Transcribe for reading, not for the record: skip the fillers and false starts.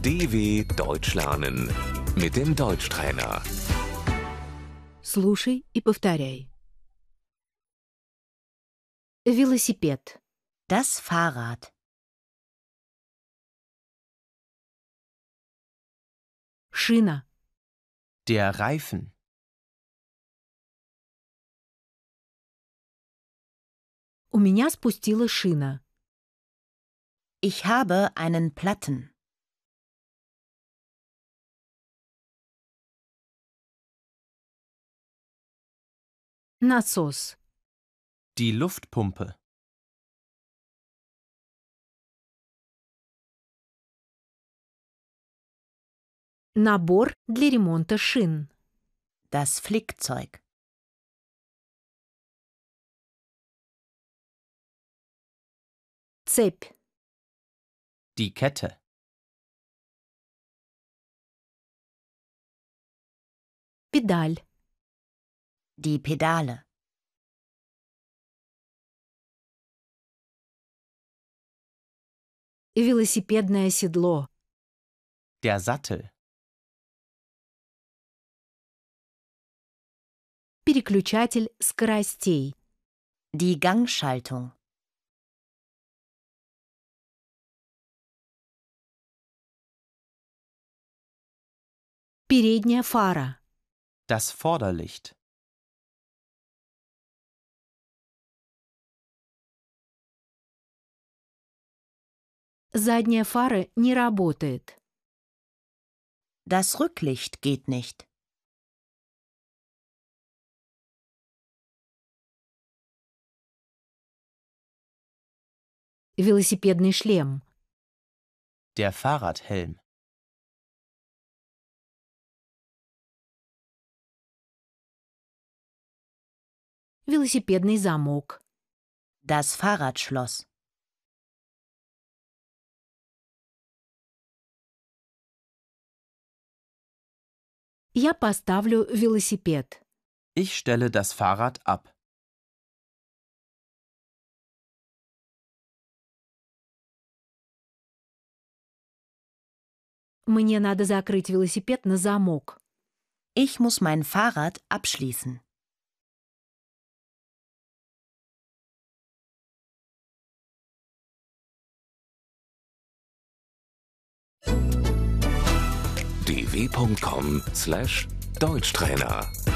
DW Deutsch lernen mit dem Deutschtrainer. Слушай и повторяй. Велосипед, Das Fahrrad, шина, Der Reifen, у меня спустила шина. ich habe einen Platten, Насос, die Luftpumpe, набор для ремонта шин. das Flickzeug, Цепь, die Kette, педаль, die Pedale, велосипедное седло, der Sattel, переключатель скоростей, die Gangschaltung, передняя фара, das Vorderlicht, задняя фара не работает. das Rücklicht geht nicht, Велосипедный шлем, der Fahrradhelm, велосипедный замок, das Fahrradschloss, я поставлю велосипед. ich stelle das Fahrrad ab. Мне надо закрыть велосипед на замок. ich muss mein Fahrrad abschließen. dw.com/Deutschtrainer